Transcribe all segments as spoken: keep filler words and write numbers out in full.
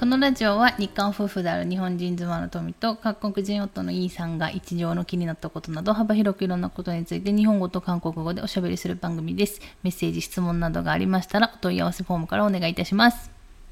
このラジオは日韓夫婦である日本人妻の富と韓国人夫のイーさんが日常の気になったことなど幅広くいろんなことについて日本語と韓国語でおしゃべりする番組です。メッセージ、質問などがありましたらお問い合わせフォームからお願いいたします。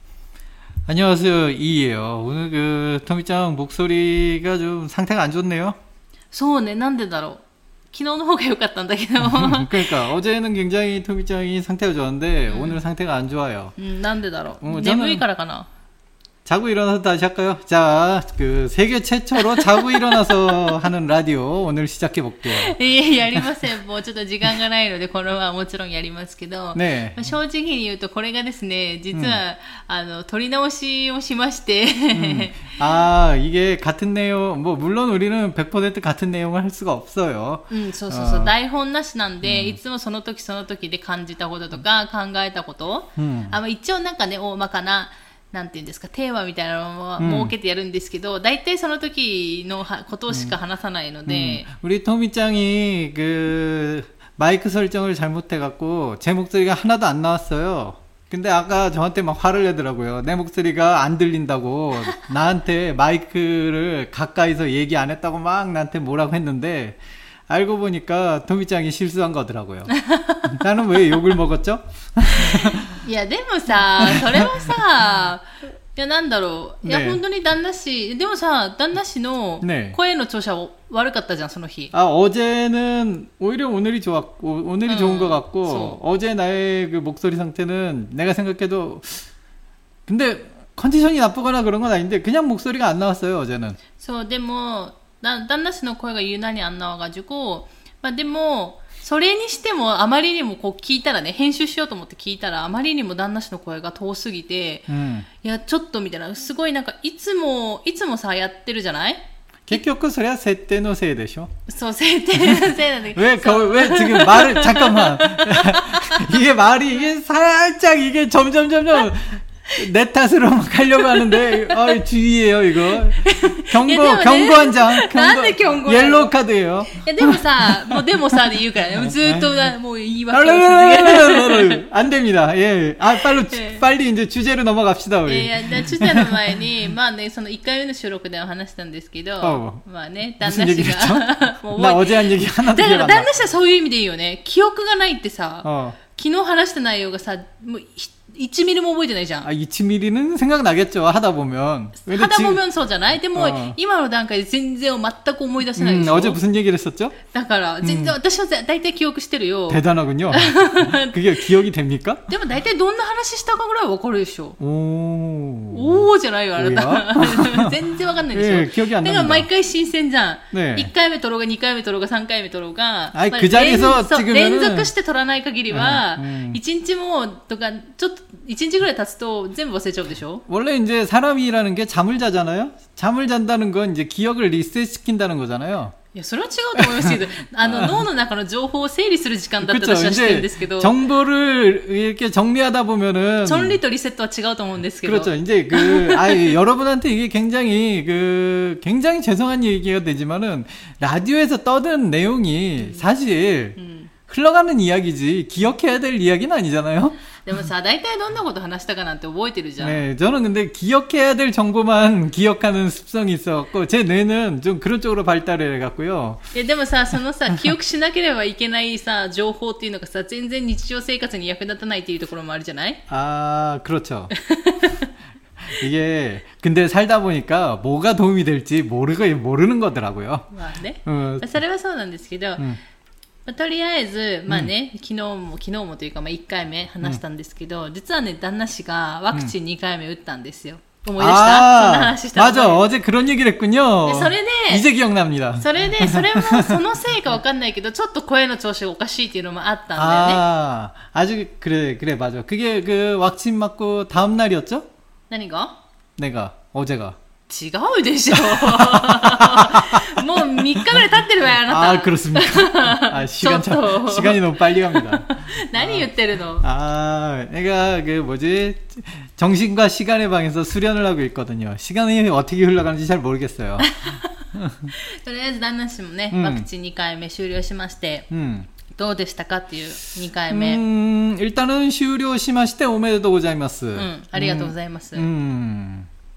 안녕하세요, 이예요. 오늘 그 토미짱 목소리가 좀 상태가 안 좋네요. そうね、なんでだろう。昨日の方が良かったんだけど。 그러니까 어제는 굉장히 토미짱이 상태가 좋았는데 음. 오늘 상태가 안 좋아요. 음, なんでだろう. 어, 眠いからかな. 자고 일어나서 다시 할까요? 자, 그 세계 최초로 자고 일어나서 하는 라디오 오늘 시작해 볼게요. いや、やりません。もうちょっと時間がないのでこのままもちろんやりますけど、ね、正直に言うとこれがですね、実は、うん、あの撮り直しをしまして、 음. 아, 이게 같은 내용, 뭐 물론 우리는 백 퍼센트 같은 내용을 할 수가 없어요. うん、そうそうそう、台本なしなんで、いつもその時その時で感じたこととか考えたこと、うん、あの一応なんかね、大まかななんていうんですか、テーマみたいなのを設けてやるんですけど、だいたいその時のことしか話さないので、 음. 우리 토미짱이 그 마이크 설정을 잘못해갖고 제 목소리가 하나도 안 나왔어요. 근데 아까 저한테 막 화를 내더라고요. 내 목소리가 안 들린다고 나한테 마이크를 가까이서 얘기 안 했다고 막 나한테 뭐라고 했는데 알고 보니까 토미짱이 실수한 거더라고요. 나는 왜 욕을 먹었죠? いやでもさ、それはさ、いやなんだろう、いや、ね、本当に旦那氏、でもさ、旦那氏の声の調子は悪かったじゃん、その日。 あ、어제는 오히려 오늘이 좋았고, 오늘이 음, 좋은 것 같고, so. 어제 나의 그 목소리 상태는 내가 생각해도, 근데 컨디션이 나쁘거나 그런 건 아닌데 그냥 목소리가 안 나왔어요, 어제는. そう、でも旦那氏の声が유난히안 나와가지고、まあでも。それにしてもあまりにもこう聞いたらね、編集しようと思って聞いたらあまりにも旦那氏の声が遠すぎて、うん、いやちょっとみたいな、すごいなんかいつもいつもさやってるじゃない？ 結局それは設定のせいでしょ？ そう、設定のせいなんだけど。 왜 왜 지금 말을 잠깐만. 이게 말이 이게 살짝 이게 점점 점점 내 탓으로 막 하려고 하는데, 아, 주의해요, 이거. 경고, 경고 한 장. 경고. 옐로우 카드예요. 야, でもさ、もうでもさで言うから、ずっともう言い訳を続ける。안 됩니다. 예. 아, 빨리, 빨리 이제 주제로 넘어갑시다, 우리. いや、주제の前に、まあね、そのいっかいめの収録では話したんですけど、어, まあね、旦那氏が。 나 어제 한 얘기 하나도 기억 안 나. だから旦那氏はそういう意味でいいよね。記憶がないってさ、어. 昨日話した内容がさ、もういちミリも覚えてないじゃん。 あ、いちミリ는 생각나겠죠. 하다 보면. 하다 보면 そうじゃない？でも、어. 今の段階で全然全く思い出せないでしょ。 음, 어제 무슨 얘기를 했었죠? だから全然、음. 私は大体記憶してるよ。 대단하군요. 그게 기억이 됩니까? でも大体どんな話したかぐらいわかるでしょ。 おー。おーじゃないよ、あなた。全然わかんないでしょ。 えー、記憶안 납니다。 だから毎回新鮮じゃん。ね、いっかいめ撮ろうがにかいめ撮ろうがさんかいめ撮ろうが、 あ、まあ、그 자리에서 지금은 連続して撮らない限りは、いちにちもとかちょっといちにちぐらい経つと全部忘れちゃうでしょ? 원래 이제 사람이라는 게 잠을 자잖아요. 잠을 잔다는 건 이제 기억을 리셋시킨다는 거잖아요. いや、それは違うと思いますけど、あの脳の中の情報を整理する時間だったら私は知ってるんですけど、 정보를 이렇게 정리하다 보면은 정리と 리셋は違うと思うんですけど. 그렇죠. 이제 그 아, 여러분한테 이게 굉장히 그 굉장히 죄송한 얘기가 되지만은 라디오에서 떠드는 내용이 사실 음. 흘러가는 이야기지 기억해야 될 이야기는 아니잖아요. でもさ、大体どんなこと話したかなんて覚えてるじゃん. 네, 저는 근데 기억해야 될 정보만 기억하는 습성이 있어갖고 제 뇌는 좀 그런 쪽으로 발달을 해갖고요. いやでもさ、そのさ、記憶しなければいけないさ、情報っていうのがさ、全然日常生活に役立たないっていうところもあるじゃない? 아, 그렇죠. 이게 근데 살다 보니까 뭐가 도움이 될지 모르고 모르는 거더라고요. まあね. 음. それはそうなんですけど. 음. とりあえず、まあね、うん、昨日も、昨日もというか、まあ、いっかいめ話したんですけど、うん、実はね、旦那氏がワクチンにかいめ打ったんですよ。思い出した？そんな話した。 맞아、어제 그런 얘기를 했군요。 それで、 이제 기억납니다。 それで、それもそのせいかわかんないけど、ちょっと声の調子がおかしいっていうのもあったんだよね。 ああ、아주 그래、그래、맞아。그게 그 왁친 맞고 다음 날이었죠？ 何が？ 내가、어제가。 違うでしょ。もうみっかぐらい経ってるわよ、あなた。 あ、그렇습니까? 아, 시간 참, 시간이 너무 빨리 갑니다. 何言ってるの? 아, 내가 그 뭐지? 정신과 시간의 방에서 수련을 하고 있거든요. 시간이 어떻게 흘러가는지 잘 모르겠어요. とりあえず旦那氏もね、うん、ワクチンにかいめ終了しまして、うん、どうでしたかっていうにかいめ。 음, 일단은終了しましておめでとうございます。 うん、ありがとうございます。 음, 음.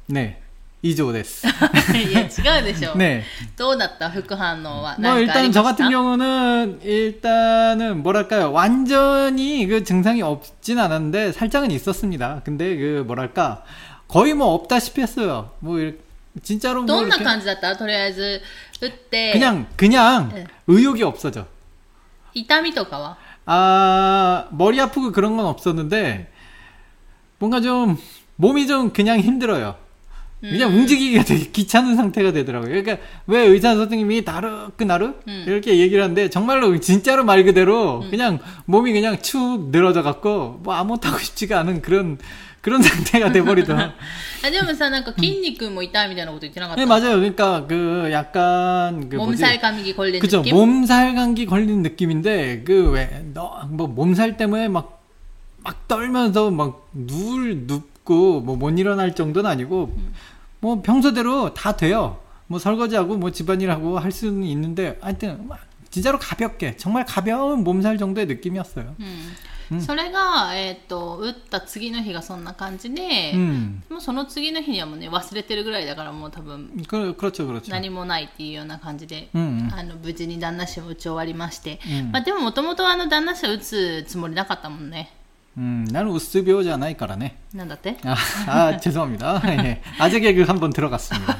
네. 이조です. 예, 違うでしょ. 네. どうだった副反応は? 뭐 일단 저 같은 경우는 일단은 뭐랄까요? 완전히 그 증상이 없진 않았는데 살짝은 있었습니다. 근데 그 뭐랄까? 거의 뭐 없다시피 했어요. 뭐 진짜로 뭐 どんな感じだった? とりあえず打って 그냥 그냥 네. 의욕이 없어져. 痛みとかは? 아, 머리 아프고 그런 건 없었는데 뭔가 좀 몸이 좀 그냥 힘들어요. 그냥 음. 움직이기가 되게 귀찮은 상태가 되더라고요. 그러니까 왜 의사 선생님이 나르크나르 음. 이렇게 얘기를 하는데 정말로 진짜로 말 그대로 음. 그냥 몸이 그냥 축 늘어져 갖고 뭐 아무것도 하고 싶지가 않은 그런 그런 상태가 돼버리더라고요. 아, 근데 사, 뭔가筋肉も痛いみたいなこと言ってなかった? 네, 맞아요. 그러니까 그 약간 그 몸살 감기 걸린 그쵸, 느낌? 몸살 감기 걸린 느낌인데 그 왜 너 뭐 몸살 때문에 막 막 떨면서 막 누울 눕고 뭐 못 일어날 정도는 아니고 음. 뭐 평소대로 다 돼요. 뭐 설거지하고 뭐 집안일하고 할 수는 있는데 하여튼 진짜로 가볍게 정말 가벼운 몸살 정도의 느낌이었어요. 음. それが、えっと、打った次の日がそんな感じで、うん、もうその次の日にはもうね忘れてるぐらいだからもう多分何もないっていうような感じで、うん、あの無事に旦那氏を打ち終わりまして、うんまあ、でももともと旦那氏を打つつもりなかったもんね。 음, 나는 우스병じゃないからね. 난다때? 아, 아, 죄송합니다. 네. 아재 개그 한번 들어갔습니다.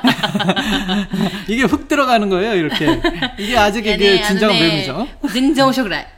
이게 훅 들어가는 거예요, 이렇게. 이게 아재 개그의 진정한 묘미죠. 全然面白くない.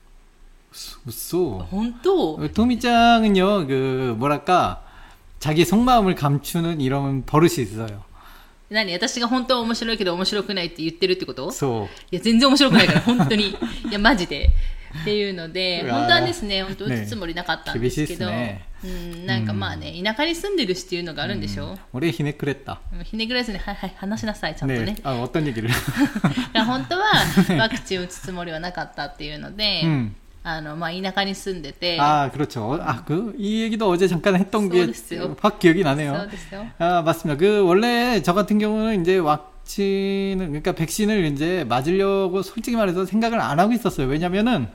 웃소. 本当? 토미짱은요, 그 뭐랄까 자기 속마음을 감추는 이런 버릇이 있어요. 何私が本当は面白いけど面白くないって言ってるってこと？ そう。 いや全然面白くないから本当にいやマジでっていうので本当はですね本当打つつもりなかったんですけど、ねうん、なんかまあね田舎に住んでるしっていうのがあるんでしょ。うん、 俺ひねくれた。 ひねくれずにはいはい話しなさいちゃんとね。ねあ어떤 얘기를。 本当はワクチン打つつもりはなかったっていうので。うんあのまあ田舎に住んでて 아, 그렇죠. 아, 그 이 얘기도 어제 잠깐 했던 게 확 기억이 나네요. 아, 맞습니다. 그 원래 저 같은 경우는 이제 왁신을 그러니까 백신을 이제 맞으려고 솔직히 말해서 생각을 안 하고 있었어요. 왜냐면은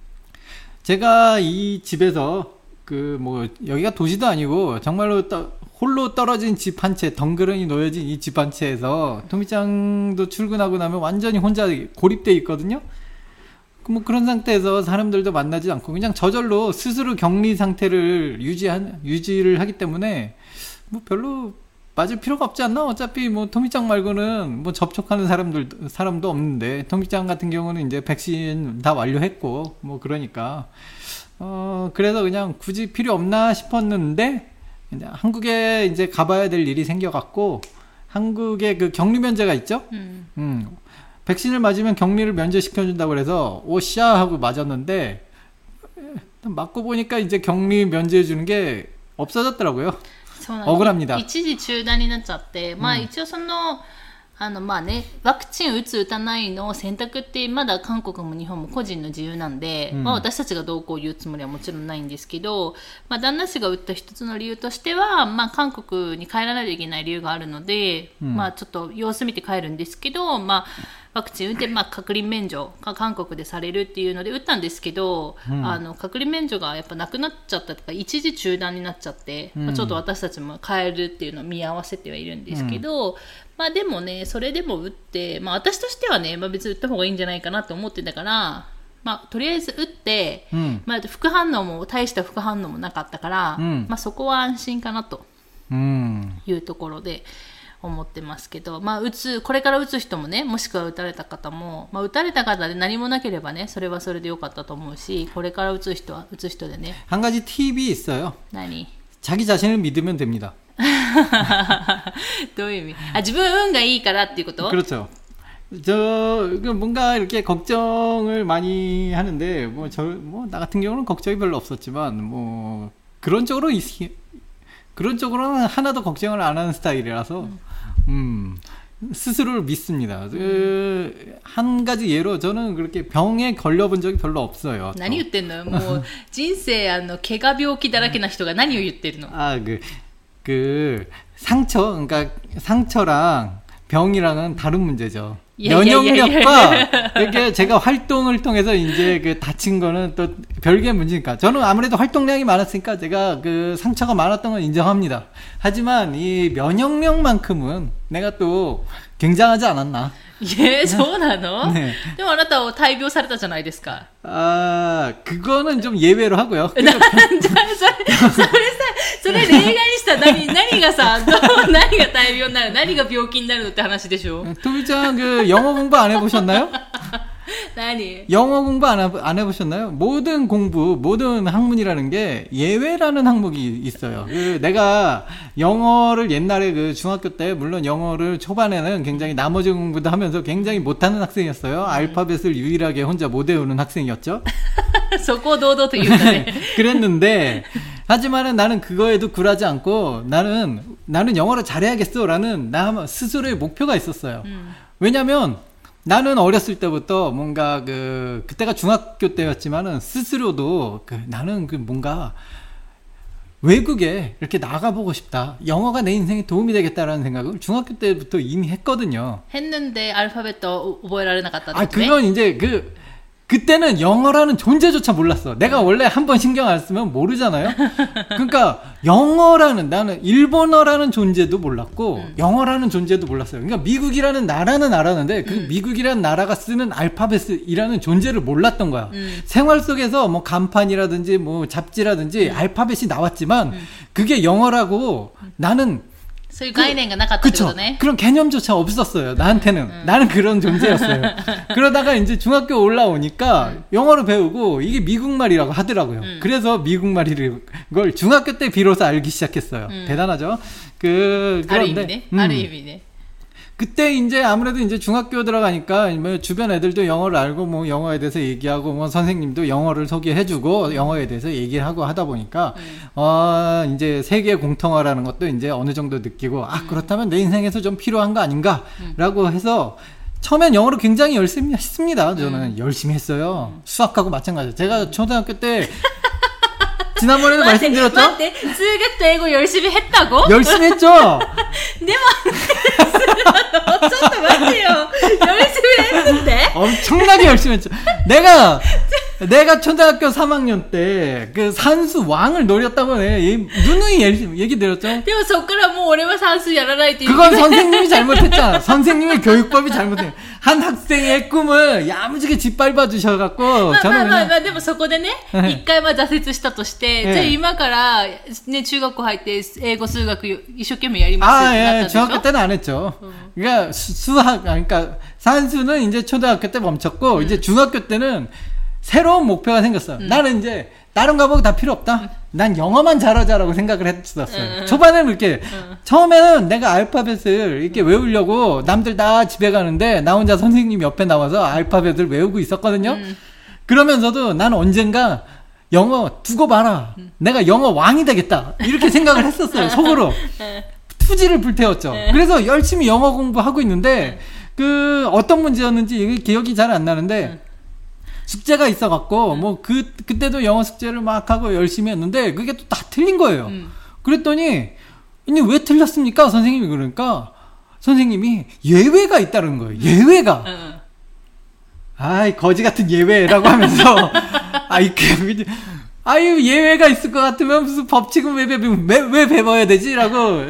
제가 이 집에서 그 뭐 여기가 도시도 아니고 정말로 떠, 홀로 떨어진 집 한 채 덩그러니 놓여진 이 집 한 채에서 토미짱도 출근하고 나면 완전히 혼자 고립돼 있거든요. 뭐 그런 상태에서 사람들도 만나지 않고 그냥 저절로 스스로 격리 상태를 유지한 유지를 하기 때문에 뭐 별로 맞을 필요가 없지 않나? 어차피 뭐 토미짱 말고는 뭐 접촉하는 사람들 사람도 없는데 토미짱 같은 경우는 이제 백신 다 완료했고 뭐 그러니까 어 그래서 그냥 굳이 필요 없나 싶었는데 이제 한국에 이제 가봐야 될 일이 생겨갖고 한국에 그 격리 면제가 있죠. 음. 음. 백신을 맞으면 격리를 면제시켜준다고 그래서 오샤 하고 맞았는데 맞고 보니까 이제 격리 면제해주는 게 없어졌더라고요. 억울합니다. 一時中断になっちゃって、まあ一応そのあのまあねワクチン打つ打たないの選択ってまだ韓国も日本も個人の自由なんで、うんまあ、私たちがどうこう言うつもりはもちろんないんですけど、まあ、旦那氏が打った一つの理由としては、まあ、韓国に帰らないといけない理由があるので、うんまあ、ちょっと様子見て帰るんですけど、まあ、ワクチン打って、まあ、隔離免除が韓国でされるっていうので打ったんですけど、うん、あの隔離免除がやっぱなくなっちゃったとか一時中断になっちゃって、うんまあ、ちょっと私たちも帰るっていうのを見合わせてはいるんですけど、うんまあでもね、それでも打って、まあ私としてはね、まあ別に打った方がいいんじゃないかなと思ってたから、まあとりあえず打って、うん、まあ副反応も、大した副反応もなかったから、うん、まあそこは安心かなというところで思ってますけど、まあ打つ、これから打つ人もね、もしくは打たれた方も、まあ打たれた方で何もなければね、それはそれでよかったと思うし、これから打つ人は打つ人でね。 한 가지 팁이 있어요. 何? 자기 자신을 믿으면 됩니다. どういう意味? 아, 自分運がいいからっていうこと? 그렇죠. 저 뭔가 이렇게 걱정을 많이 하는데 뭐 저 뭐 나 같은 경우는 걱정이 별로 없었지만 뭐 그런 쪽으로 그런 쪽으로는 하나도 걱정을 안 하는 스타일이라서 음, 음 스스로를 믿습니다. 그, 한 가지 예로 저는 그렇게 병에 걸려본 적이 별로 없어요. 何言ってんの? もう人生あの怪我病気だらけな人が何を言ってるの? 아, 그 그 상처, 그러니까 상처랑 병이랑은 다른 문제죠. 예, 면역력과 예, 예, 예. 이렇게 제가 활동을 통해서 이제 그 다친 거는 또 별개의 문제니까. 저는 아무래도 활동량이 많았으니까 제가 그 상처가 많았던 건 인정합니다. 하지만 이 면역력만큼은 내가 또 굉장하지 않았나. 예, そうなの? 네. でもあなたを大病されたじゃないですか. 아, 그거는 좀 예외로 하고요. じゃあ、それ、それさ、それ例外にしたら何、何がさ、どう、何が大病になる、何が病気になるのって話でしょ? 토비짱 그 영어 공부 안 해보셨나요? 나니? 영어 공부 안, 안 해보셨나요? 모든 공부, 모든 학문이라는 게 예외라는 항목이 있어요. 그 내가 영어를 옛날에 그 중학교 때, 물론 영어를 초반에는 굉장히 나머지 공부도 하면서 굉장히 못하는 학생이었어요. 음. 알파벳을 유일하게 혼자 못 외우는 학생이었죠. そこを堂々と言うんだね. 그랬는데, 하지만은 나는 그거에도 굴하지 않고, 나는, 나는 영어를 잘해야겠어. 라는 나 스스로의 목표가 있었어요. 음. 왜냐면, 나는 어렸을 때부터 뭔가 그 그때가 중학교 때였지만은 스스로도 그 나는 그 뭔가 외국에 이렇게 나가보고 싶다. 영어가 내 인생에 도움이 되겠다라는 생각을 중학교 때부터 이미 했거든요. 했는데 알파벳도 覚えられなかった. 아, 그건 이제 그 그때는 영어라는 존재조차 몰랐어. 내가 원래 한번 신경 안 쓰면 모르잖아요. 그러니까 영어라는, 나는 일본어라는 존재도 몰랐고 음. 영어라는 존재도 몰랐어요. 그러니까 미국이라는 나라는 알았는데 그 음. 미국이라는 나라가 쓰는 알파벳이라는 존재를 몰랐던 거야. 음. 생활 속에서 뭐 간판이라든지 뭐 잡지라든지 음. 알파벳이 나왔지만 음. 그게 영어라고 나는 そういう概念がなかったってことね. 그런 개념조차 없었어요. 나한테는. 음. 나는 그런 존재였어요. 그러다가 이제 중학교 올라오니까 음. 영어를 배우고 이게 미국말이라고 하더라고요. 음. 그래서 미국말이를 걸 중학교 때 비로소 알기 시작했어요. 음. 대단하죠? 그, 그런데. 음. 아르 의미네. 그때 이제 아무래도 이제 중학교 들어가니까 뭐 주변 애들도 영어를 알고 뭐 영어에 대해서 얘기하고 뭐 선생님도 영어를 소개해주고 영어에 대해서 얘기를 하고 하다 보니까 음. 어 이제 세계 공통어라는 것도 이제 어느 정도 느끼고 아 그렇다면 내 인생에서 좀 필요한 거 아닌가라고 음. 해서 처음엔 영어를 굉장히 열심히 했습니다. 저는 음. 열심히 했어요. 음. 수학하고 마찬가지예요. 제가 초등학교 때 지난번에도 말씀드렸죠? 待って、数学と英語 열심히 했다고? 열심히 했죠? でも、ちょっと待ってよ. 열심히 했는데? 엄청나게 열심히 했죠. 내가, 내가 초등학교 삼 학년 때, 그 산수 왕을 노렸다고 해. 누누이 얘기 드렸죠? でもそっからもう俺は算数やらないって言う. 그건 선생님이 잘못했잖아. 선생님의 교육법이 잘못해. 한 학생의 꿈을 야무지게 짓밟아 주셔갖고, 저는. まあまあまあ、でもそこでね、一回は挫折したとして、じゃあ今からね、中学校入って英語数学一生懸命やりますってなったでしょ? 아, 예, 중학교 때는 안 했죠. 음. 그러니까 수, 수학, 그러니까 산수는 이제 초등학교 때 멈췄고, 음. 이제 중학교 때는 새로운 목표가 생겼어요. 음. 나는 이제 다른 과목 다 필요 없다. 음. 난 영어만 잘하자라고 생각을 했었어요. 음. 초반에는 그렇게 음. 처음에는 내가 알파벳을 이렇게 외우려고 남들 다 집에 가는데 나 혼자 선생님 옆에 나와서 알파벳을 외우고 있었거든요. 음. 그러면서도 난 언젠가 영어 두고 봐라. 음. 내가 영어 왕이 되겠다. 이렇게 생각을 했었어요. 속으로. 투지를 불태웠죠. 그래서 열심히 영어 공부하고 있는데 그 어떤 문제였는지 기억이 잘 안 나는데 숙제가 있어갖고 뭐 그 그때도 영어 숙제를 막 하고 열심히 했는데 그게 또 다 틀린 거예요. 그랬더니 이게 왜 틀렸습니까? 선생님이 그러니까 선생님이 예외가 있다는 거예요. 예외가. 아이 거지 같은 예외라고 하면서 아이 그 아유 예외가 있을 것 같으면 무슨 법칙은 왜, 왜, 왜, 왜 배워야 되지? 라고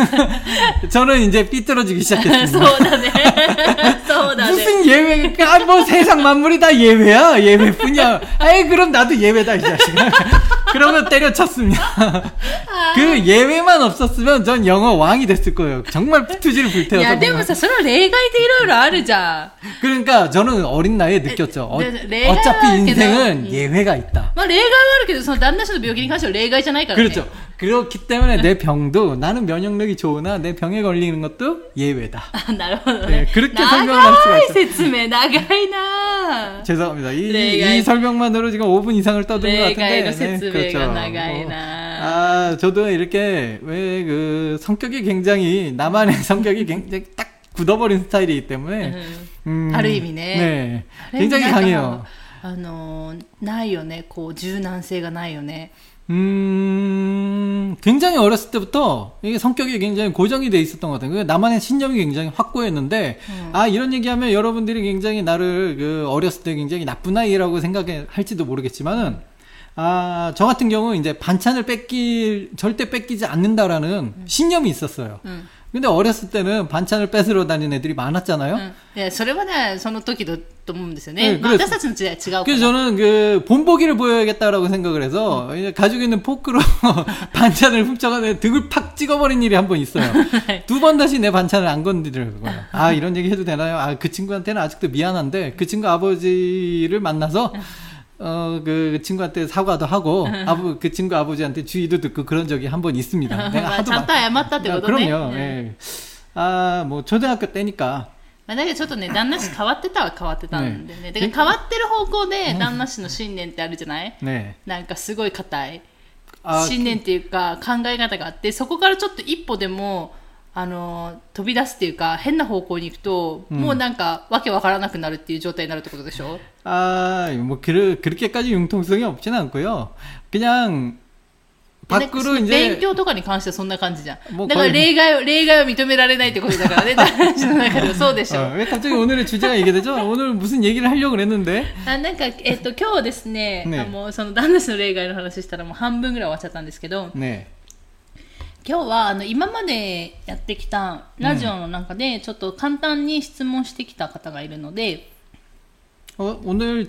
저는 이제 삐뚤어지기 시작했습니다. 무슨 예외가 뭐 세상 만물이 다 예외야 예외뿐이야. 아이 그럼 나도 예외다 이 자식아. 그러면 때려쳤습니다. 그 예외만 없었으면 전 영어 왕이 됐을 거예요. 정말 투지를 불태워서. 야, でもさ、それは例外でいろいろあるじゃん. 그러니까 저는 어린 나이에 느꼈죠. 어, 어차피 인생은 예외가 있다. まあ例外はあるけど、その旦那氏の病気に関しては例外じゃないからね. 그렇죠. 그렇기 때문에 내 병도 나는 면역력이 좋으나 내 병에 걸리는 것도 예외다. 아, なるほどね. 네, 그렇게 설명을 할 수가 있어요. 説明長いな. 죄송합니다. 이, 이 설명만으로 지금 오 분 이상을 떠든 것 같은데. 네, 그렇죠. 어, 아, 저도 이렇게 왜 그 성격이 굉장히 나만의 성격이 굉장히 딱 굳어버린 스타일이기 때문에. 음, ある意味ね. 네, 굉장히 강해요. あのないよね。こう柔軟性がないよね. 음, 굉장히 어렸을 때부터 이게 성격이 굉장히 고정이 돼 있었던 것 같아요. 나만의 신념이 굉장히 확고했는데, 음. 아, 이런 얘기하면 여러분들이 굉장히 나를 그 어렸을 때 굉장히 나쁜 아이라고 생각할지도 모르겠지만은, 아, 저 같은 경우 이제 반찬을 뺏기 절대 뺏기지 않는다라는 음. 신념이 있었어요. 음. 근데 어렸을 때는 반찬을 뺏으러 다니는 애들이 많았잖아요. 응. 네, それはね、その時だと思うんですよね。私たちの時代違うから。 그래서 저는 그 본보기를 보여야겠다라고 생각을 해서 응. 가지고 있는 포크로 반찬을 훔쳐가는 등을 팍 찍어버린 일이 한 번 있어요. 두 번 다시 내 반찬을 안 건드리고요. 아, 이런 얘기 해도 되나요? 아, 그 친구한테는 아직도 미안한데 그 친구 아버지를 만나서 어, 그 친구한테 사과도 하고, 아부, 그 친구 아버지한테 주의도 듣고 그런 적이 한 번 있습니다. 내가 하도 막. 얌았다ってことね. 그럼요, 예. 아, 뭐, 초등학교 때니까. まあ、だけどちょっとね、旦那氏変わってたは変わってたんでね。だから変わってる方向で旦那氏の信念ってあるじゃない？ね。なんかすごい固い。信念っていうか考え方があって、そこからちょっと一歩でも、あの飛び出すっていうか変な方向に行くと、うん、もうなんかわけわからなくなるっていう状態になるってことでしょ? 아, 뭐 그 그렇게까지 융통성이 없진 않고요. 그냥 밖으로 이제 勉強とかに関してはそんな感じじゃん。だから例外を例外を認められないってことだからね。話の中ではそうでしょ. 왜 갑자기 오늘의 주제가 이게 되죠? 오늘 무슨 얘기를 하려고 그랬는데. あ、なんかえっと今日ですね、ねあもうその旦那氏の例外の話したらもう半分ぐらい終わっちゃったんですけど。ね。今日はあの今までやってきたラジオの中でちょっと簡単に質問してきた方がいるので、 어、오늘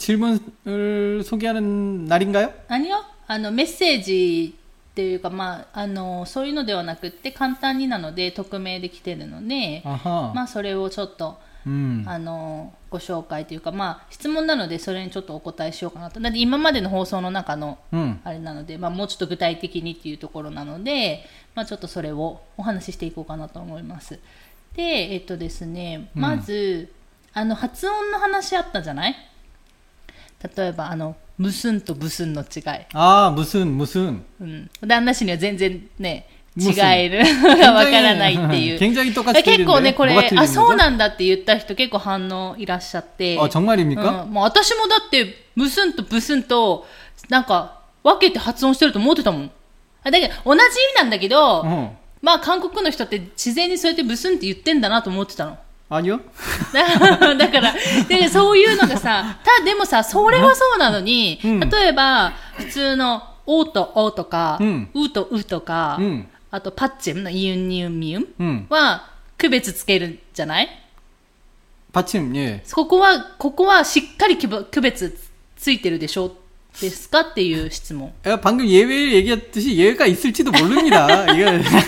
질문을 소개하는 날인가요? 아니요. あのメッセージっていうか、まあ、あのそういうのではなくって簡単になので匿名で来てるので、まあ、それをちょっと、うん、あのご紹介というか、まあ、質問なのでそれにちょっとお答えしようかなと。だって今までの放送の中のあれなので、うんまあ、もうちょっと具体的にっていうところなので、まあ、ちょっとそれをお話ししていこうかなと思います。で、えっとですね、まず、うん、あの発音の話あったじゃない？例えばあのムスンとブスンの違い。 ああ、ムスン、ムスン。 うん。旦那氏には全然ね、違えるがわからないっていう。結構ね、これ、あ、そうなんだって言った人結構反応いらっしゃって。 あ、정말입니까？ うん。もう私もだって、ムスンとブスンと、なんか、分けて発音してると思ってたもん。だけど、同じ意味なんだけど、うん、まあ韓国の人って自然にそうやってブスンって言ってんだなと思ってたの。 あによだから、でそういうのがさ、たでもさ、それはそうなのに、うん、例えば、普通の、おとおとか、うん、うとうとか、うん、あと、パッチムのイユンニウミウンは、区別つけるじゃない？ パッチム、ね。 ここは、ここはしっかり区別ついてるでしょですかっていう質問. 방금 예외를 얘기했듯이 예외가 있을지도 모릅니다. 이거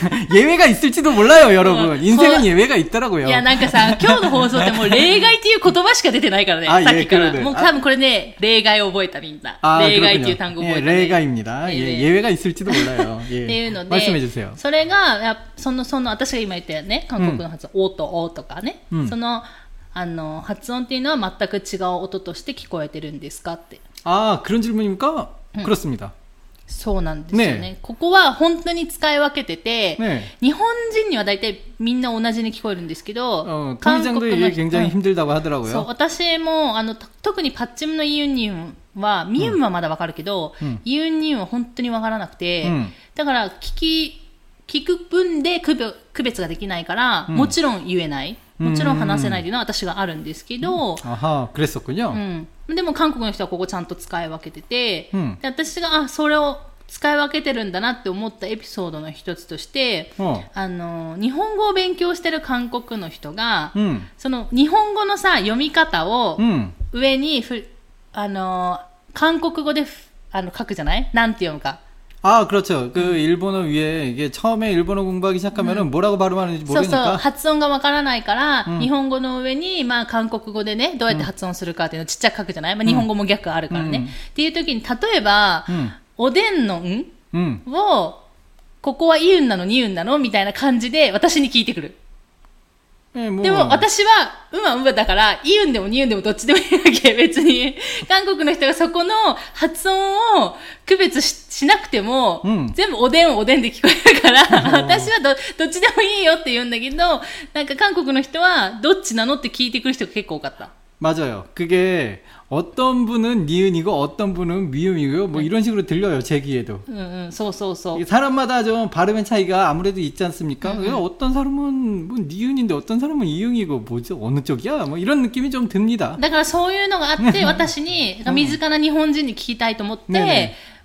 예외가 있을지도 몰라요, 여러분. 인생은 예외가 있더라고요. いや、なんかさ、今日の放送ってもう例外っていう言葉しか出てないからね。さっきから。もう多分これね、例外を覚えたみんな。例外っていう単語を覚えた、ね。 例外입니다. 예, 예외가 있을지도 몰라요. 예. っていうので、 말씀해 주세요. それがそのその私が今言ったよね、韓国の発音、おとおとかね、そのあの発音っていうのは全く違う音として聞こえてるんですかって。 아, 그런 질문입니까? 음. 그렇습니다. そうなんですよね。ね、ここは本当に使い分けてて、ね、日本人には大体みんな同じに聞こえるんですけど、 어,韓国の人、굉장히 힘들다고 하더라고요. そう、私もあの特にパッチムのイユンニウンは、ミユンはまだわかるけど、うん、イユンニウンは本当にわからなくて、うん、だから聞き聞く分で区別ができないから、うん、もちろん言えない。もちろん話せないというのは私があるんですけど、 あは、그랬었군요。 うん。でも韓国の人はここちゃんと使い分けてて、うん、で私があそれを使い分けてるんだなって思ったエピソードの一つとして、うん、あの日本語を勉強してる韓国の人が、うん、その日本語のさ読み方を上にふ、うん、あの韓国語であの書くじゃない？なんて読むか。 아, 그렇죠. 그 음. 일본어 위에 이게 처음에 일본어 공부하기 시작하면은 음. 뭐라고 발음하는지 모르니까. そうそう、発音がわからないから、うん、日本語の上にまあ韓国語でね、どうやって発音するかっていうのをちっちゃく書くじゃない？まあ日本語も逆あるからね。うん、っていう時に例えば、うん、おでんのん、うん、をここはイウンなのニウンなのみたいな感じで私に聞いてくる。 でも私はうんはうんだからイウンでもニウンでもどっちでもいいわけ。別に韓国の人がそこの発音を区別 し, しなくても、うん、全部おでんおでんで聞こえるから私は ど, どっちでもいいよって言うんだけど、なんか韓国の人はどっちなのって聞いてくる人が結構多かった。 맞아요. 그게 어떤 분은 니은이고 어떤 분은 미음이고요. 뭐 이런 식으로 들려요. 제 귀에도. 응, 응, 소소소. 사람마다 좀 발음의 차이가 아무래도 있지 않습니까? 응, 응. 어떤 사람은 뭐 니은인데 어떤 사람은 이응이고 뭐죠? 어느 쪽이야? 뭐 이런 느낌이 좀 듭니다. だからそういうのがあって私に身近な日本人に聞きたいと思って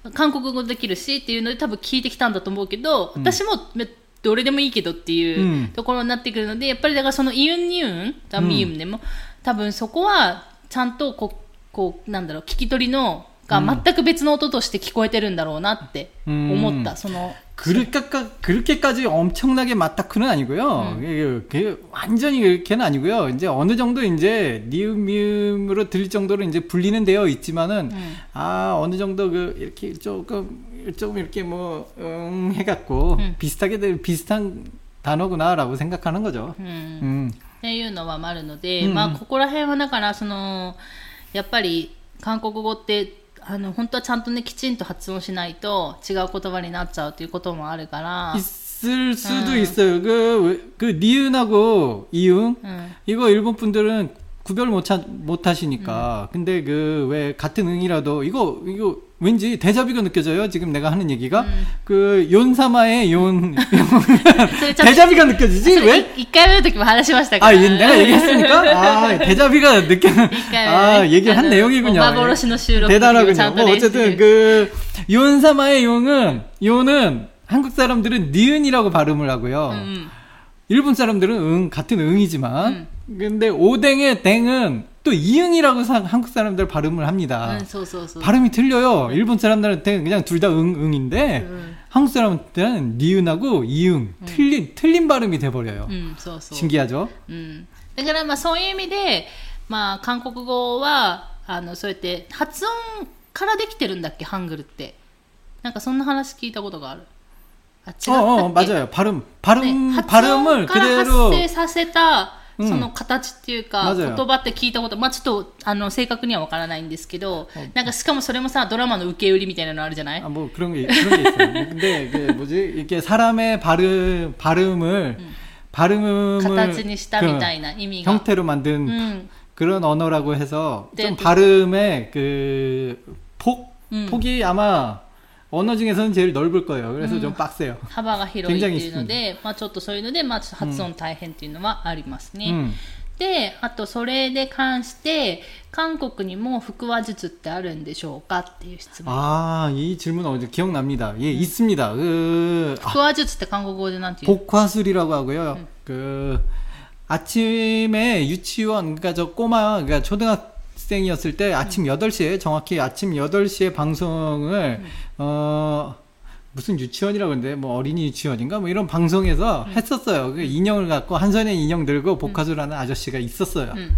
韓国語できるしっていうので多分聞いてきたんだと思うけど、私もどれでもいいけどっていうところになってくるので、やっぱりだからそのイユンニュン、ダミユンでも、多分そこはちゃんとこう、こうなんだろう、聞き取りのが全く別の音として聞こえてるんだろうなって思った。 음. その 그렇게, 그렇게까지 엄청나게 맞다크는 아니고요. 음. 그게 완전히 그렇게는 아니고요. 이제 어느 정도 이제 니은 미음으로 들릴 정도로 이제 분리는 되어 있지만은 음. 아 어느 정도 그 이렇게 조금 조금 이렇게 뭐 음, 해갖고 음. 비슷하게 비슷한 단어구나라고 생각하는 거죠. 음. 음. っていうのはあるので、まあここら辺はだからそのやっぱり韓国語ってあの本当はちゃんとねきちんと発音しないと違う言葉になっちゃうということもあるから。 있을 수도 음. 있어요. 그, 그 니은하고 이응 음. 이거 일본 분들은 구별 못, 하, 못 하시니까. 음. 근데 그 왜 같은 응이라도 이거 이거 왠지 대자비가 느껴져요. 지금 내가 하는 얘기가 음. 그 연사마의 연 대자비가 느껴지지 왜? 일回目の時も話しましたから. 아, 내가 얘기했으니까 아, 대자비가 느껴. 아, 얘기를 한 내용이군요. 대단하군요. 뭐 어쨌든 그 연사마의 용은 요는 한국 사람들은 니은이라고 발음을 하고요. 음. 일본 사람들은 응 같은 응이지만 음. 근데 오뎅의 땡은 또 이응이라고 사, 한국 사람들 발음을 합니다. 음, 소, 소, 소. 발음이 틀려요. 일본 사람들한테는 그냥 둘 다 응, 응인데 음. 한국 사람한테는 니은하고 이응 음. 틀린 틀린 발음이 돼 버려요. 음, 소, 소. 신기하죠? 음. だからまあそういう意味でまあ韓国語はあのそうやって発音からできてるんだっけハングルって。なんかそんな話聞いたことがある。 아, 어, 어, 맞아요. 발음, 발음, 네, 발음을 그대로 発生させたその形っていうか、言葉って聞いたこと、まあちょっとあの正確にはわからないんですけど、なんかしかもそれもさドラマの受け売りみたいなのあるじゃない? 아, 뭐 그런 게 그런 게 있어요. 근데 그 뭐지 이렇게 사람의 발음 발음을 음. 발음을 形にしたみたいな意味が 형태로 만든 음. 그런 언어라고 해서 좀 발음의 그 폭, 음. 폭이 아마 언어 중에서는 제일 넓을 거예요. 그래서 음, 좀 빡세요. 幅が広いっていうので、まあちょっとそういうので、まあ発音大変っていうのはありますね。うん、で、あとそれで関して、韓国にも腹話術ってあるんでしょうかっていう質問。 ああ、이 질문 어제 기억납니다. 예, 음. 있습니다. 그 腹話術って韓国語でなんて言う? 복화술이라고 하고요. 음. 그 아침에 유치원, 그러니까 저 꼬마, 그러니까 초등학교 생이었을 때 아침 음. 여덟 시에 정확히 아침 여덟 시에 방송을 음. 어 무슨 유치원이라고 그러는데 뭐 어린이 유치원인가 뭐 이런 방송에서 음. 했었어요. 그 인형을 갖고 한 손에 인형 들고 복화술하는 음. 아저씨가 있었어요. 음.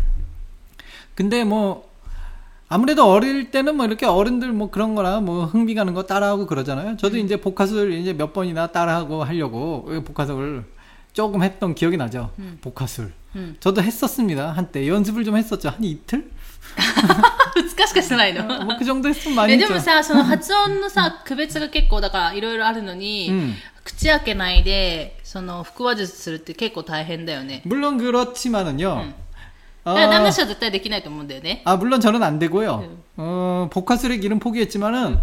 근데 뭐 아무래도 어릴 때는 뭐 이렇게 어른들 뭐 그런 거나 뭐 흥미 가는 거 따라하고 그러잖아요. 저도 음. 이제 복화술 이제 몇 번이나 따라하고 하려고 복화술을 조금 했던 기억이 나죠. 음. 복화술. 음. 저도 했었습니다. 한때 연습을 좀 했었죠. 한 이틀? ふつかしかしてないの。 もうくじょんです많이 했죠。 でもさ、その発音のさ、区別が結構だからいろいろあるのに、うん、口開けないでその腹話術するって結構大変だよね。 물론 그렇지만은요. 응. 어, 남자 씨は絶対できないと思うんだよね。 아, 물론 저는 안 되고요. 응. 어, 복화술의 길은 포기했지만은.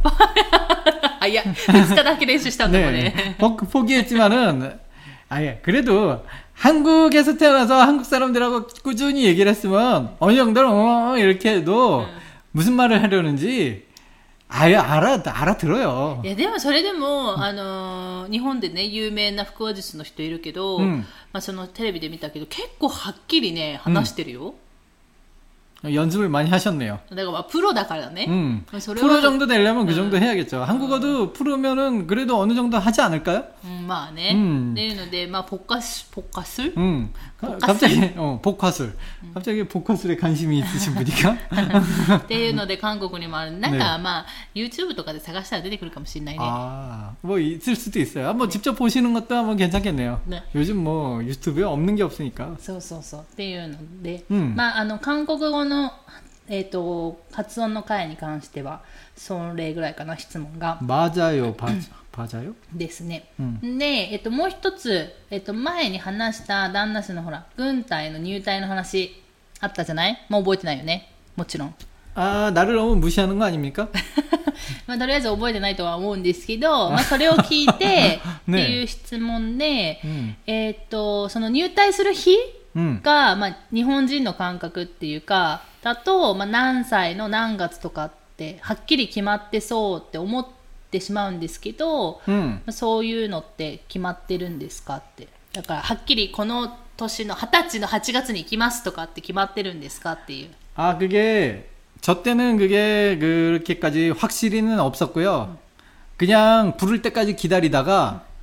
아, 야,ふつかだけ練習したんだもんね。 포기했지만은, 아예 그래도. 한국에서 태어나서 한국 사람들하고 꾸준히 얘기를 했으면 어느 정도는 어 이렇게 해도 음. 무슨 말을 하려는지 아예 알아 알아들어요. いやでもそれでもあの日本でね有名な腹話術の人いるけど、うん、まあそのテレビで見たけど結構はっきりね話してるよ。 음. 연습을 많이 하셨네요. 내가 프로だからね. 음. 프로 정도 되려면 그 정도 해야겠죠. 한국어도 프로면은 그래도 어느 정도 하지 않을까요? 음, まあね. 음. っていうので, 막 복화술, 복화술? 음. 갑자기 어, 복화술. 갑자기 복화술에 관심이 있으신 분이가? っていうので韓国にもある. なんかまあ YouTube とかで探したら出てくるかもしれないね. 아, 뭐 있을 수도 있어요. 한번 네. 직접 보시는 것도 한번 괜찮겠네요. 네. 요즘 뭐 유튜브에 없는 게 없으니까. そうそうそうっていうので, まああの韓国語のえっと発音の回に関してはそれぐらいかな質問が。 맞아요, 맞아요. ですね。で、えっともう一つえっと前に話した旦那氏のほら軍隊の入隊の話あったじゃない？もう覚えてないよね。もちろん。 아, 나를 너무 무시하는 거 아닙니까? まあとりあえず覚えてないとは思うんですけど、まあそれを聞いてっていう質問で、えっとその入隊する日がまあ日本人の感覚っていうか。だと、まあ、何歳の何月とかってはっきり決まってそうって思っってしまうんですけど、 うん、 そういうのって決まってるんですかって。だからはっきりこの年のはたちのはちがつに行きますとかって決まってるんですかっていう。 あ、그게 저 때는 그게 그렇게까지 확실히는 없었고요. 음. 그냥 부를 때까지 기다리다가 음.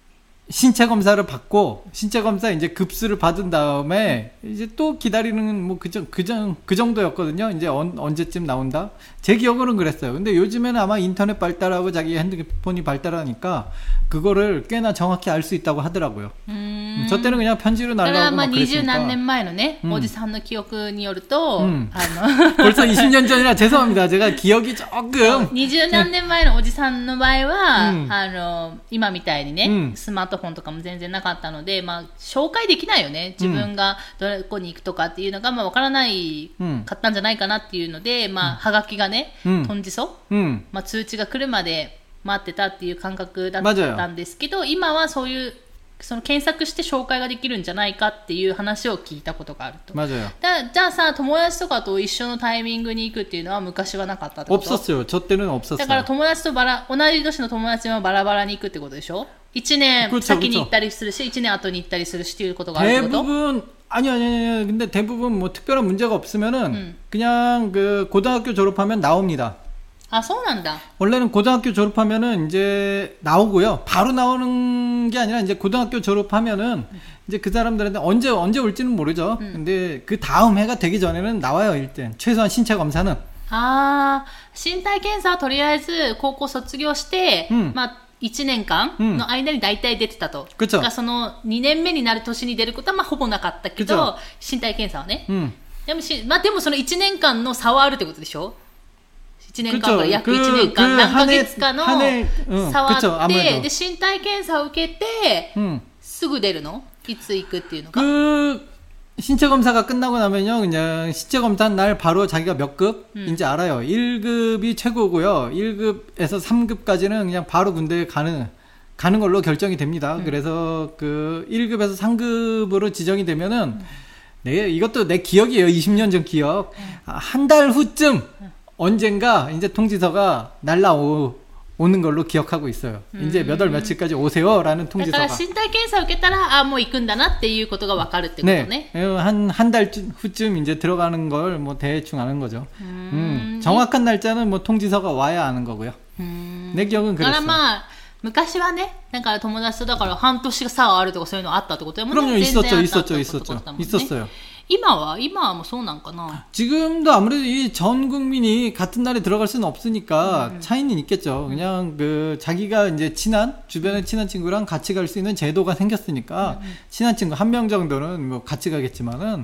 신체 검사를 받고 신체 검사 이제 급수를 받은 다음에 이제 또 기다리는 뭐 그정 그정 그 정도였거든요. 이제 언, 언제쯤 나온다. 제 기억으로는 그랬어요. 근데 요즘에는 아마 인터넷 발달하고 자기 핸드폰이 발달하니까 그거를 꽤나 정확히 알 수 있다고 하더라고요. 음. 저 때는 그냥 편지로 날라오고 막 그랬으니까. 이십何年前のね, 음. 오지さんの 기억によると, 음. 벌써 이십 년 전이라 죄송합니다. 제가 기억이 조금. 이십何年前の 오지さんの場合は, 음. あの今みたいにね, 음. スマートフォンとかも全然なかったので、まあ紹介できないよね。自分がどこに行くとかっていうのがまあわからないかったんじゃないかなっていうので、まあはがきがね、トンジソ、まあ通知が来るまで待ってたっていう感覚だったんですけど、今はそういうその検索して紹介ができるんじゃないかっていう話を聞いたことがあると。 맞아요。 だじゃあさ、友達とかと一緒のタイミングに行くっていうのは昔はなかったってこと？ 없었어요。저 때는 없었어요。 だから友達とバラ同じ年の友達はバラバラに行くってことでしょ？いちねん先に行ったりするし、いちねん後に行ったりするしっていうことがあるってこと？ 대부분 아니 아니 아니 근데 대부분 뭐 특별한 문제가 없으면은 음. 그냥 그 고등학교 졸업하면 나옵니다. 아, そうなんだ. 원래는 고등학교 졸업하면은 이제 나오고요. 바로 나오는 게 아니라 이제 고등학교 졸업하면은 음. 이제 그 사람들한테 언제 언제 올지는 모르죠. 음. 근데 그 다음 해가 되기 전에는 나와요, 일단. 최소한 신체 검사는. 아, 身体検査はとりあえず高校卒業して、 음. まあいちねんかんの間に大体出てたと。 うん、 がそのにねんめになる年に出ることはまあほぼなかったけど、身体検査はね。うん、でもし、まあでもそのいちねんかんの差はあるってことでしょ？いちねんかんから約いちねんかん、何ヶ月かの差はあって、で、身体検査を受けて、うん、すぐ出るの？いつ行くっていうのか。 신체 검사가 끝나고 나면요, 그냥 신체 검사 날 바로 자기가 몇 급인지 음. 알아요. 일 급이 최고고요. 일 급에서 삼 급까지는 그냥 바로 군대에 가는, 가는 걸로 결정이 됩니다. 음. 그래서 그 일 급에서 삼 급으로 지정이 되면은, 음. 네, 이것도 내 기억이에요. 이십 년 전 기억. 음. 한 달 후쯤 음. 언젠가 이제 통지서가 날라오, 오는 걸로 기억하고 있어요. 음. 이제 몇 월 며칠까지 오세요라는 통지서가. だから身体検査を受けたらあもう行くんだなっていうことがわかるってことね. 네, 한 한 달 후쯤 이제 들어가는 걸 뭐 대충 아는 거죠. 음. 음, 정확한 날짜는 뭐 통지서가 와야 아는 거고요. 음. 내 기억은 그랬어요. だからまあ昔はね、だから友達とだから半年差があるとかそういうのあったってことだもんね. 그럼요, 있었죠, 있었죠, 있었죠, 있었어요. 今は今はもうそうなんかな. 지금도 아무래도 이 전 국민이 같은 날에 들어갈 수는 없으니까 음. 차이는 있겠죠. 그냥 그 자기가 이제 친한 주변에 친한 친구랑 같이 갈 수 있는 제도가 생겼으니까 음. 친한 친구 한 명 정도는 뭐 같이 가겠지만은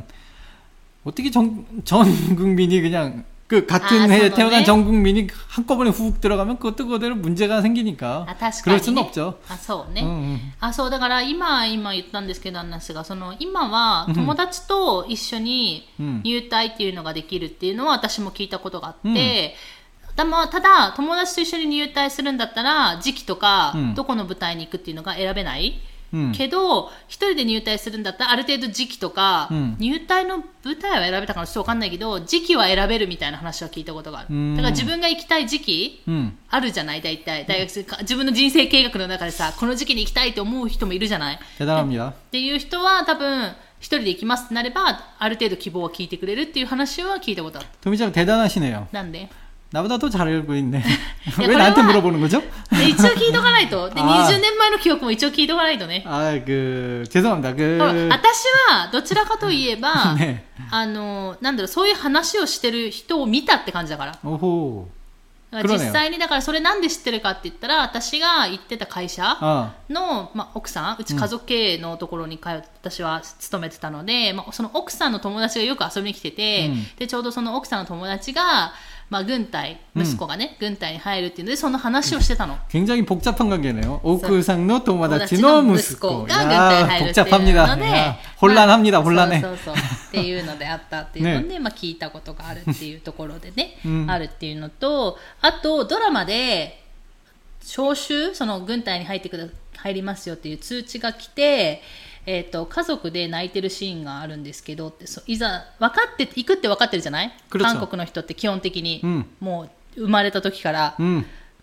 어떻게 전, 전 국민이 그냥 그 같은 아, 해에 태어난 전 국민이 한꺼번에 훅 들어가면 그것도 그대로 문제가 생기니까. 아, 確かにね。 그럴 수는 없죠. あ、そうね。うんうん、あ、そうだから今今言ったんですけど、話がその今は友達と一緒に入隊っていうのができるっていうのは私も聞いたことがあって。うん、ただ友達と一緒に入隊するんだったら時期とか、うん、どこの部隊に行くっていうのが選べない。うん、けど一人で入隊するんだったらある程度時期とか、うん、入隊の部隊は選べたかなちょっと分かんないけど時期は選べるみたいな話は聞いたことがある。だから自分が行きたい時期、うん、あるじゃない大体大学生、うん、自分の人生計画の中でさこの時期に行きたいと思う人もいるじゃない。っていう人は多分一人で行きますってなればある程度希望を聞いてくれるっていう話は聞いたことある。 トミちゃん대단하시네요。 なんで 나보다 더 잘 알고 있네. 왜 나한테 물어보는 거죠? 一応聞いとかないと。で、にじゅうねんまえの記憶も一応聞いとかないとね。 あ、그 죄송합니다. 그 私はどちらかといえば、ね、あのなんだろうそういう話をしてる人を見たって感じだから。 おほ実際にだからそれなんで知ってるかって言ったら私が行ってた会社の、まあ、奥さんうち家族経営のところに通って私は勤めてたので、まあ、その奥さんの友達がよく遊びに来てて、うん、でちょうどその奥さんの友達がまあ、軍隊、息子がね、うん、軍隊に入るっていうのでその話をしてたの。 굉장히 복잡한 관계네요. 오쿠상의 도모다치의息子が軍隊に入るっていうので、 혼란합니다. 혼란해。 そうそうそうっていうのであったっていうので、ねまあ、聞いたことがあるっていうところでね、うん、あるっていうのと、あとドラマで招集その軍隊に入ってくだ入りますよっていう通知が来て。えー、と家族で泣いてるシーンがあるんですけどってそいざ分かって行くって分かってるじゃない韓国の人って基本的に、うん、もう生まれた時から、うん、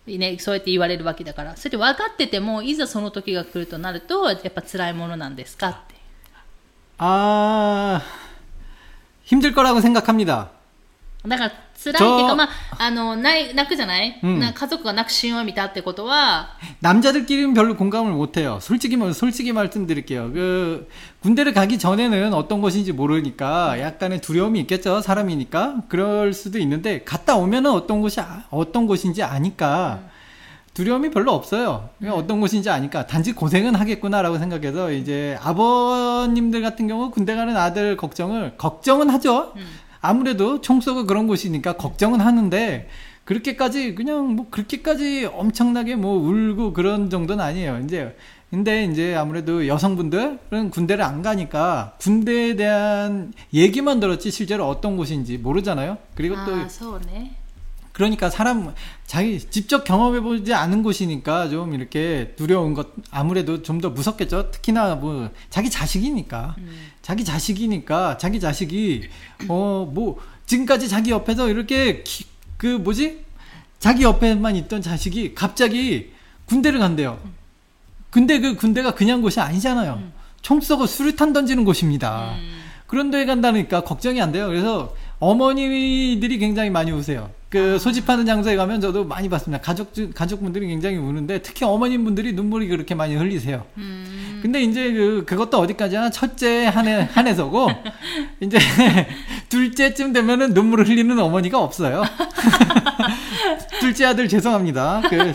ね、そうやって言われるわけだから、それで分かっててもいざその時が来るとなるとやっぱ辛いものなんですかって。 あ힘들거라고생각합니다。 だから辛いっていうか、まあ、あの泣くじゃない、うん、な家族が泣くシーンを見たってことは 남자들끼리는별로공감을못해요솔직히말씀드릴게요그군대를가기전에는어떤곳인지모르니까약간의두려움이있겠죠사람이니까그럴수도있는데갔다오면은어떤곳이어떤곳인지아니까 두려움이 별로 없어요. 어떤 곳인지 아니까. 단지 고생은 하겠구나라고 생각해서 이제 아버님들 같은 경우 군대 가는 아들 걱정을 걱정은 하죠. 아무래도 총쏘고 그런 곳이니까 걱정은 하는데 그렇게까지 그냥 뭐 그렇게까지 엄청나게 뭐 울고 그런 정도는 아니에요. 이제 근데 이제 아무래도 여성분들은 군대를 안 가니까 군대에 대한 얘기만 들었지 실제로 어떤 곳인지 모르잖아요. 그리고 또 아, 서운해. 그러니까 사람 자기 직접 경험해보지 않은 곳이니까 좀 이렇게 두려운 것 아무래도 좀 더 무섭겠죠. 특히나 뭐 자기 자식이니까 음. 자기 자식이니까 자기 자식이 어 뭐 지금까지 자기 옆에서 이렇게 기, 그 뭐지 자기 옆에만 있던 자식이 갑자기 군대를 간대요. 근데 그 군대가 그냥 곳이 아니잖아요. 음. 총 쏘고 수류탄 던지는 곳입니다. 음. 그런 데에 간다니까 걱정이 안 돼요. 그래서 어머니들이 굉장히 많이 우세요. 그 소집하는 장소에 가면 저도 많이 봤습니다. 가족 가족분들이 굉장히 우는데 특히 어머님분들이 눈물이 그렇게 많이 흘리세요. 음. 근데 이제 그 그것도 어디까지나 첫째 한해 한해서고 이제 둘째쯤 되면은 눈물을 흘리는 어머니가 없어요. 둘째 아들 죄송합니다. 그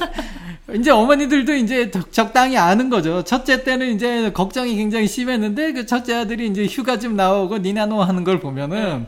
이제 어머니들도 이제 적당히 아는 거죠. 첫째 때는 이제 걱정이 굉장히 심했는데 그 첫째 아들이 이제 휴가 좀 나오고 니나노 하는 걸 보면은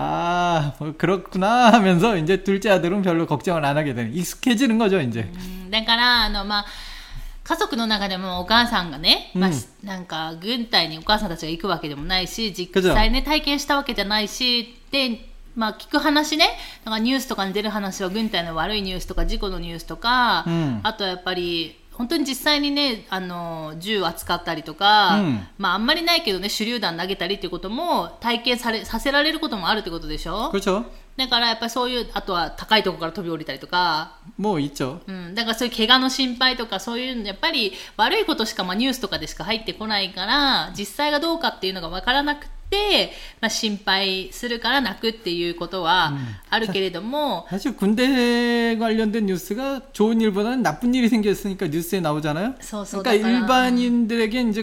아, 뭐 그렇구나 하면서 이제 둘째 아들은 별로 걱정을 안 하게 되는 익숙해지는 거죠, 이제. 음, だからあのまあ家族の中でもお母さんがね、まあ、なんか軍隊にお母さんたちが行くわけでもないし、実際ね体験したわけじゃないしで。まあ聞く話ね、なんかニュースとかに出る話は軍隊の悪いニュースとか事故のニュースとか、うん、あとはやっぱり本当に実際にね、あの銃扱ったりとか、うん、まああんまりないけどね、手榴弾投げたりっていうことも体験されさせられることもあるってことでしょ。 그렇죠。 だからやっぱりそういう、あとは高いところから飛び降りたりとか、 もういいっちょ。 うん、だからそういう怪我の心配とかそういうやっぱり悪いことしかまあニュースとかでしか入ってこないから、実際がどうかっていうのがわからなくて。で、まあ、心配するから泣くっていうことはあるけれども、 사실 군대 관련된 뉴스가 좋은 일보다는 나쁜 일이 생겼으니까 뉴스에 나오잖아요. 그러니까 일반인들에게 이제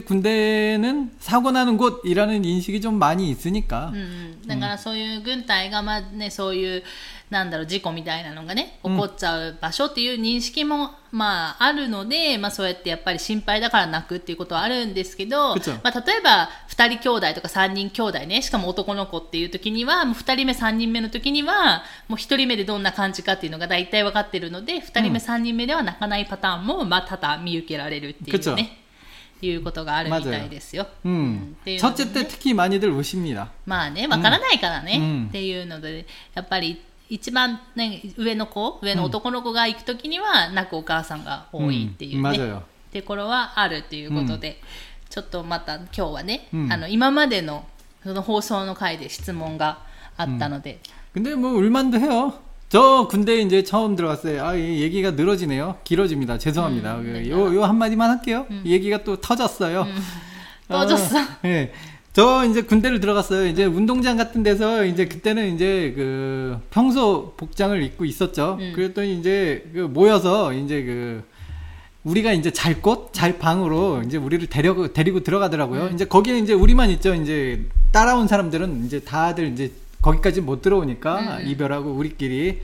군대는 사고 나는 곳이라는 인식이 좀 많이 있으니까. 음, だからそういう軍隊がまあね、そういうなんだろう事故みたいなのがね起こっちゃう場所っていう認識も、まああるので、まあそうやってやっぱり心配だから泣くっていうことはあるんですけど、まあ例えばふたり兄弟とかさんにん兄弟ね、しかも男の子っていう時にはもうふたりめさんにんめの時にはもうひとりめでどんな感じかっていうのが大体分かってるので、ふたりめさんにんめでは泣かないパターンもまあ多々見受けられるっていうね。いうことがあるみたいですよ。 うん。첫째 때 특히 많이들 우십니다. まあね、わからないからね、うん、っていうのでやっぱり一番、ね、上の子、上の男の子が行くときには泣くお母さんが多いっていうね、うん、ってところはあるっていうことで、うん、ちょっとまた今日はね、うん、あの今までのその放送の回で質問があったので。 うん、근데 뭐 울만도 해요. 저 군대 이제 처음 들어갔어요. 아, 이 얘기가 늘어지네요. 길어집니다. 죄송합니다. 음, 요, 요 한마디만 할게요. 음. 얘기가 또 터졌어요. 음. 터졌어? 어, 네. 저 이제 군대를 들어갔어요. 이제 운동장 같은 데서 이제 그때는 이제 그 평소 복장을 입고 있었죠. 음. 그랬더니 이제 그 모여서 이제 그 우리가 이제 잘 곳, 잘 방으로 이제 우리를 데려 데리고 들어가더라고요. 음. 이제 거기는 이제 우리만 있죠. 이제 따라온 사람들은 이제 다들 이제 거기까지 못 들어오니까 음. 이별하고 우리끼리.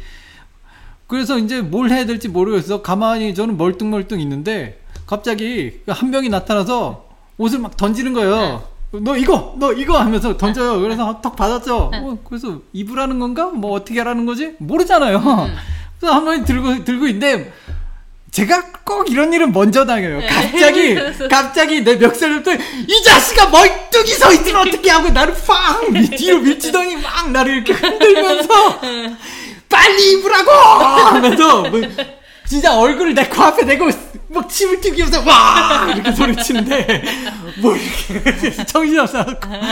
그래서 이제 뭘 해야 될지 모르겠어. 가만히 저는 멀뚱멀뚱 있는데 갑자기 한 명이 나타나서 옷을 막 던지는 거예요. 네. 너 이거 너 이거 하면서 던져요. 그래서 턱 받았죠. 네. 어, 그래서 입으라는 건가? 뭐 어떻게 하라는 거지? 모르잖아요. 음. 그래서 한 번이 들고 들고 있는데 제가 꼭 이런 일은 먼저 당해요. 갑자기 갑자기 내 멱살부터 이 자식아 멀뚱히 서 있으면 어떻게 하고 나를 팡 뒤로 밀치더니 막 나를 이렇게 흔들면서 빨리 입으라고 하면서 뭐 진짜 얼굴을 내 코앞에 대고 막 침을 튀기면서 와 이렇게 소리치는데 뭐 이렇게 정신없어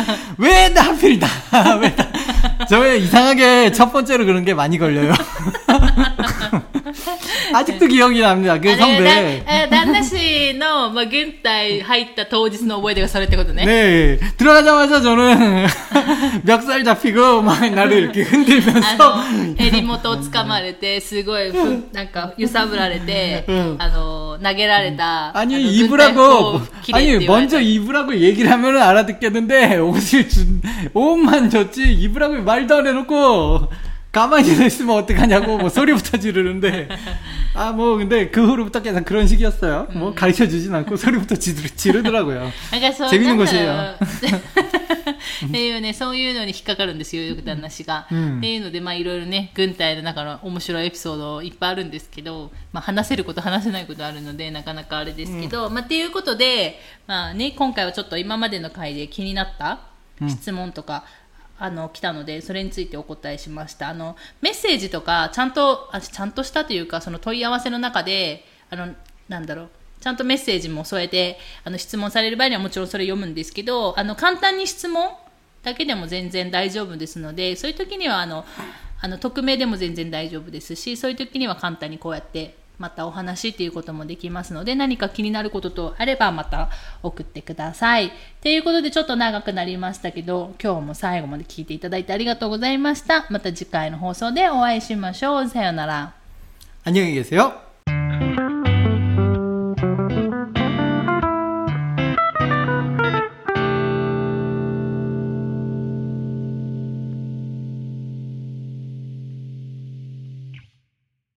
왜 나 하필 나 왜 나 저 이상하게 첫 번째로 그런 게 많이 걸려요. 아직도 기억이 납니다. 그 선배. 旦那氏の、まあ、軍隊入った当日の覚え出がそれってことね。 네. 들어가자마자 저는 멱살 잡히고 막 나를 이렇게 흔들면서 襟元を掴まれてすごいなんか揺さぶられて、あの投げられた 아니 입으라고 아니 먼저 입으라고 얘기를 하면은 알아듣겠는데 옷을 준 옷만 줬지 입으라고 말도 안 해놓고 가만히 있으면 어떡하냐고 뭐 소리부터 지르는데 아 뭐 근데 그 후로부터 계속 그런 식이었어요. 뭐 가르쳐 주진 않고 소리부터 지르, 지르더라고요. 재밌는 것이에요. っていうね、そういうのに引っかかるんですよ、よく旦那氏が。っていうので、まあいろいろね、軍隊の中の面白いエピソードいっぱいあるんですけど、まあ話せること話せないことあるので、なかなかあれですけど、まあっていうことで、まあね、今回はちょっと今までの回で気になった質問とか、あの来たのでそれについてお答えしました。あのメッセージとかちゃんとあちゃんとしたというかその問い合わせの中であのなんだろうちゃんとメッセージも添えてあの質問される場合にはもちろんそれ読むんですけどあの簡単に質問だけでも全然大丈夫ですのでそういう時にはあのあの匿名でも全然大丈夫ですしそういう時には簡単にこうやってまたお話っていうこともできますので何か気になることとあればまた送ってください。ということでちょっと長くなりましたけど今日も最後まで聞いていただいてありがとうございました。また次回の放送でお会いしましょう。さようなら。 안녕히 계세요。